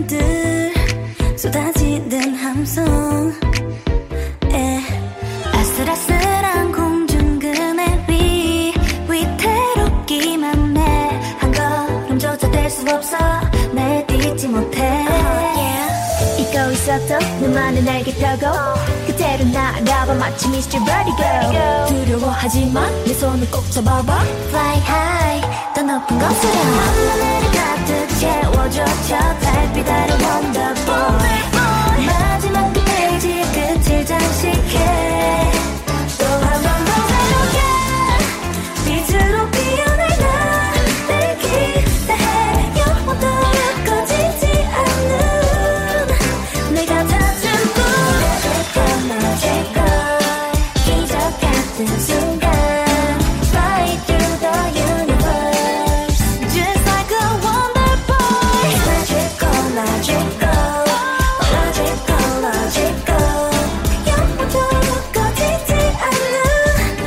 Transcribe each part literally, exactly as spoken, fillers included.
팬들 쏟아지는 함성 에 아슬아슬한 공중그네 위 위태롭기만 해 한 걸음조차 될 수 없어 날 딛지 못해 uh, yeah. 잊고 있었던 너만은 알겠다고 그대로 날아봐 마치 미스터 Vertigo 두려워하지마 내 손을 꼭 잡아봐 Fly high 더 높은 곳으로 하늘을 가득 채워줘 저 달빛 아래 Wonderboy 마지막 그 페이지 끝을 장식해 또 한 번 더 새롭게 빛으로 피어날 나를 기대해 영원토록 꺼지지 않는 내가 닫은 문 magic girl 기적 같은 순간 Fly through the universe Just like a wonder boy Magical, magical Logical, logical 영원토록 꺼지지 않는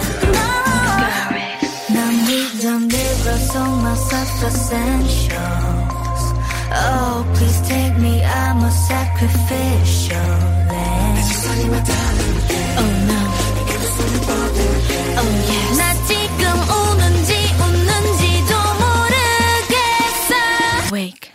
넌 믿음으로 속마 essentials Oh please take me I'm a sacrificial lamb Oh no Oh yes 나 지금 우는지 웃는지도 모르겠어 Wake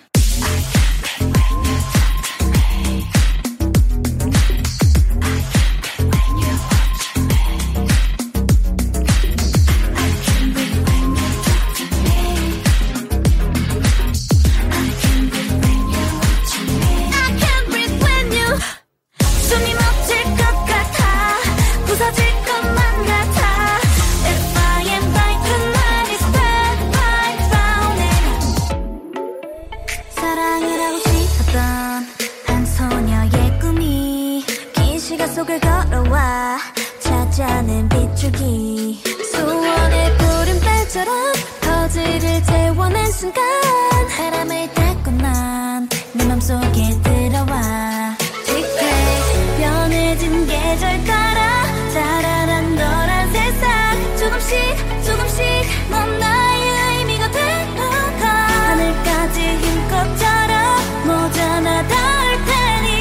속을 걸어와 찾아낸 빗줄기 소원의 푸른 별처럼 퍼즐을 재워낸 순간 바람을 닦고 난 내 맘속에 들어와 틱택 변해진 계절 따라 자라난 너란 세상 조금씩 조금씩 넌 나의 의미가 되어가 하늘까지 힘껏 자라 모자나 닿을 테니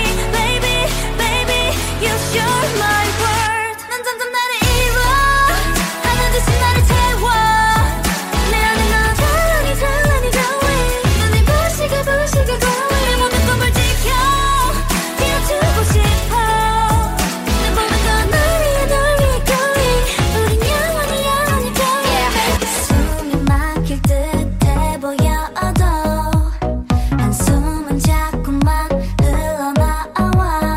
You're my world 난 점점 나를 잃어 하는 듯이 나를 채워 내 안에 너 찬란히 찬란히 glowing 눈이 부시게 부시게 glowing 내 모든 꿈을 지켜 띄워주고 싶어 내 모든 건 널 위해 널 위해 going 우린 영원히 영원히 going 숨이 막힐 듯해 보여도 한숨은 자꾸만 흘러나와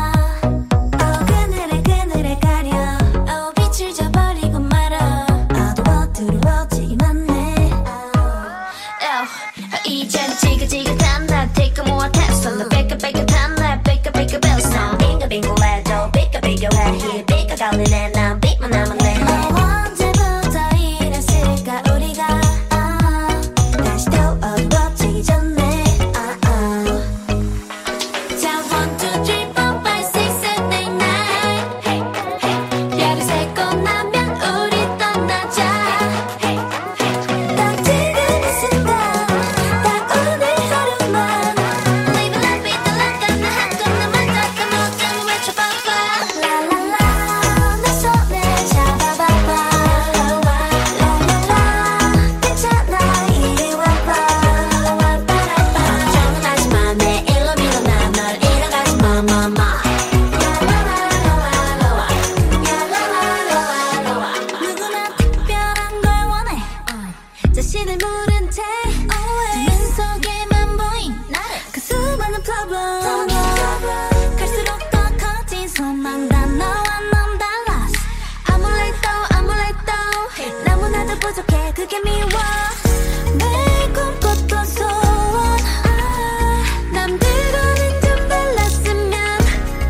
이젠 지긋지긋한 날 take a more test on the 삐끗삐끗한 날 삐끗삐끗 song 빙글빙글해도 삐끗삐끗해 here 삐끗거리네 난 빛만 남았네 언제부터 이랬을까 우리가 아, 다시 또 어두워지기 전에 아, 아. 자 one two three four five six seven eight nine hey, hey. 별을 세고 나면 우리 떠나자 hey, hey. 딱 지금 이 순간 자신을 모른 채 눈 속에만 보인 그 수많은 problem 갈수록 더 커진 소망 다 너와 넌 달라 아무래도 아무래도 너무나도 부족해 그게 미워 매일 꿈꿨던 소원 아, 남들과는 좀 달랐으면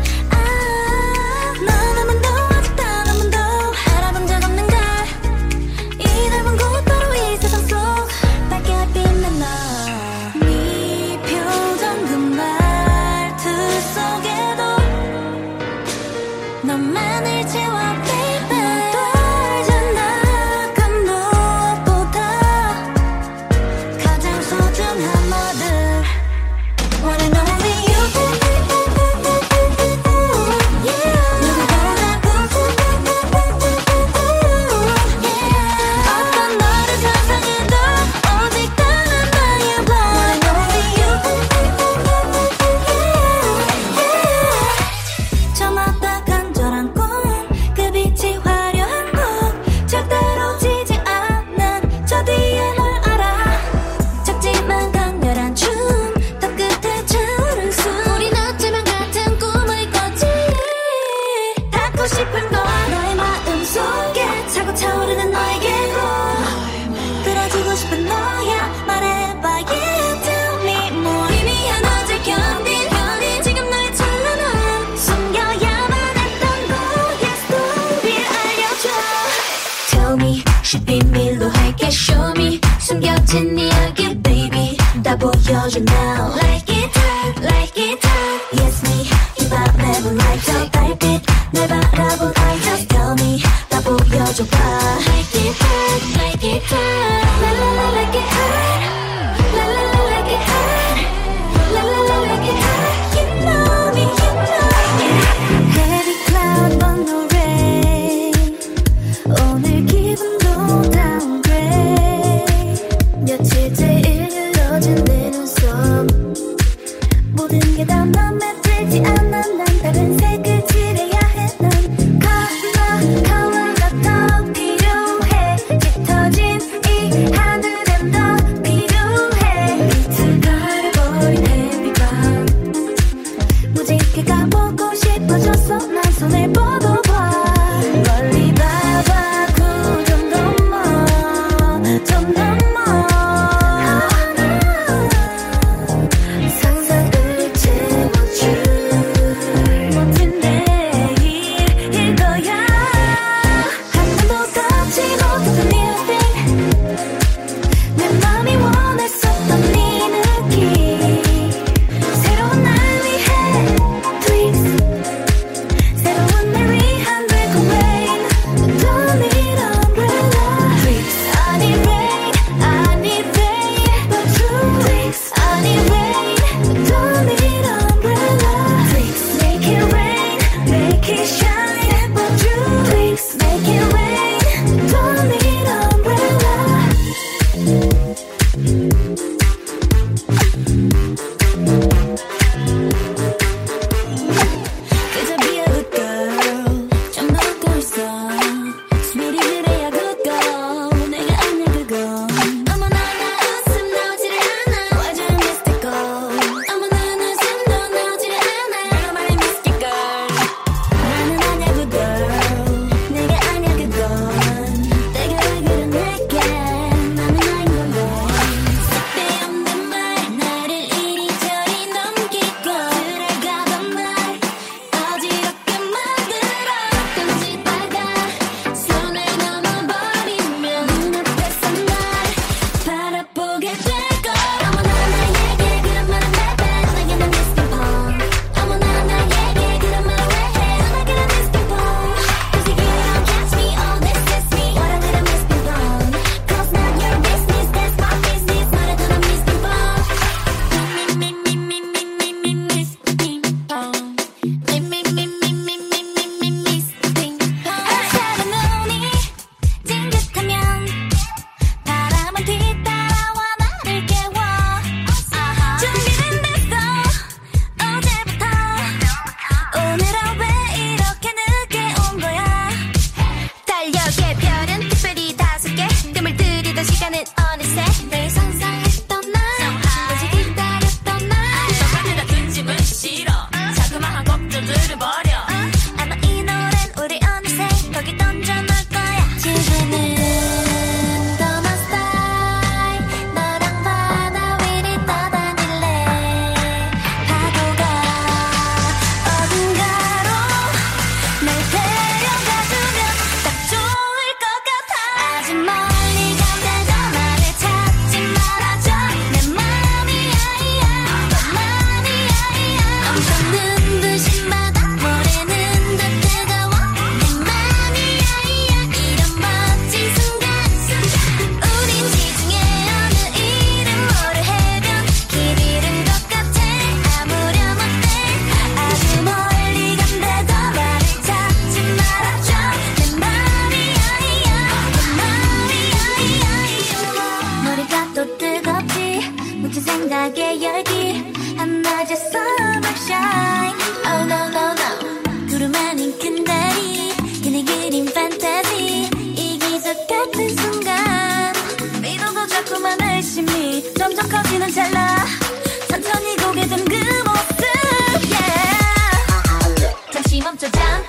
아, 너나만 더 아직 단 한 번도 알아본 적 없는 걸 이 넓은 곳 바로 이 세상 속 밝게 빛난 너 네 표정 그 말투 속에도 너만을 채워 baby 떨잖아 그 무엇보다 가장 소중한 뭐들 One and only you 다 보여줘 now. Like it hot, like it hot. Yes me, 힙합 never like 저 달빛 날 바라본 eye just tell me 다 보여줘 봐. Like it hot, like it hot. La la la like it hot. La la la like it hot. La la la like it hot. You know me, you know me. Heavy cloud on the rain. 오늘 기분도 downgrade. 며칠째 일그러진 내 눈썹. 모든 게 다 맘에 들지 않아. 난 다른 색을 칠해야 해. 난 컬러 컬러가 더 필요해. 짙어진 이 하늘엔 더 필요해. 빛을 가려버린 햇빛밤. 무지개 가보고 싶어졌어. 난 손을 뻗어봐. 멀리 봐봐. 구 점 넘어 점 넘어. 상상을 채워줄 멋진 내일일 거야. 한 번도 닿지 못했던 new thing. 내 맘이 원했었던 네 느낌. 새로운 날 위해 tweaks. 새로운 날 위한 break rain. Don't need umbrella. Tweaks. I need rain, I need rain. But true tweaks. I need rain, don't need umbrella. Tweaks. Make it rain, make it shine. But true tweaks. Make it rain, don't need umbrella. 그저 be a good girl. 좀 더 웃고 있어. Sweetie 그래야 good girl. 내가 아냐 그건. 어머나 나 웃음 나오지를 않아. 완전 mystical. 어머나 웃음도 나오지를 않아. 너 말이 mystic girl. 나는 아냐 good girl. 내가 아냐 그건. 내가 왜 그래 내게. 나는 나인 건데. 쓸데없는 말 나를 이리저리 넘기고 들어가던 날 어지럽게 만들어. 가끔씩 다가 손을 넘어버리면 눈앞에서 날 바라보게 될걸. 어머나 나에게 그런 말은 bad 내게는 mystic bomb. 어머나 나에게 그런 말을 왜 해. 너에게는 mystic bomb. Cause you don't catch me, oh this is me. what I did a mystic bomb. Cause not your business, that's my business. 말해도 난 mystic bomb. Me, me, me, me, me, me, me, me, mystic bomb. Me, me, me, me, me, me, me, me, mystic bomb. 작은 눈이 찡긋하면 바람은 뒤따라와 나를 깨워. 준비는 됐어 어제부터. 오늘은 왜 이렇게 늦게 온 거야. 달력에 별은 특별히 다섯 개. 뜸을 들이던 시간은 어느새 늘 상상했던 날. 오직 기다렸던 날. 내가 든 집은 싫어. 자그마한 걱정들을 버려. 아마 이 노랜 우리 어느새 거기 던져놓을 거야. 지금은 더 my style. 너랑 바다 위를 떠다닐래. 파도가 어딘가로 날 데려가주면 딱 좋을 것 같아. 아주 멀리 간데도 나를 찾지 말아줘. 내 맘이 아이야 너 맘이 아이야. 엄청 눈부신 바다 모래는 더 뜨거워. 내 맘이 아이야 이런 멋진 순간. 우린 지중해 어느 이름 모를 해변 길 잃은 것 같아. 아무렴 어때. 아주 멀리 간데도 나를 찾지 말아줘. 내 맘이 아이야 내 맘이 아이야. 머리가 또 뜨겁지. 묻힌 생각에 열기. 한낮의 summer shine. Oh no no no. 구름 아닌 큰 다리. 그네 그린 fantasy. 이 기적 같은 순간. 믿어도 자꾸만 의심이 점점 커지는 찰나. 천천히 고개 든 그 모습. Yeah. 잠시 멈춰 잠깐.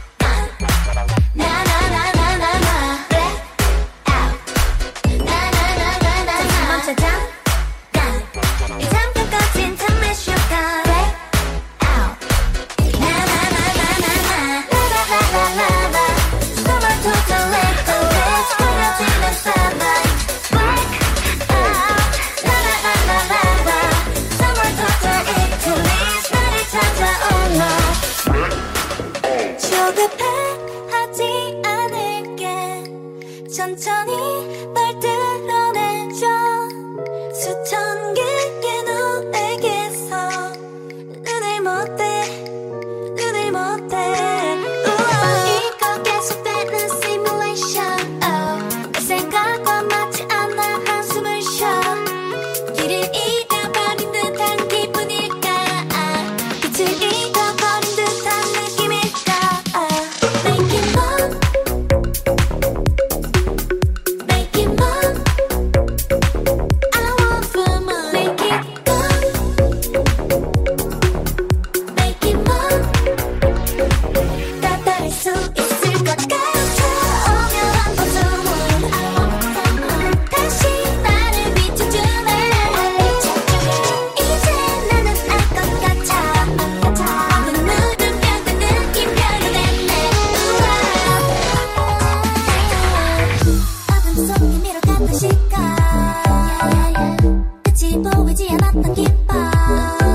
나나나나나나. Black out. 나나나나나나. 잠시 멈춰 잠깐. 이 잠깐 꺼진 틈에 쉬어가. Black out. 나나나나나나. 라라라라라라. 숨을 토탈 let the rest. 버려지는 sunlight. Black out. 나나나나나. 해봤던 기법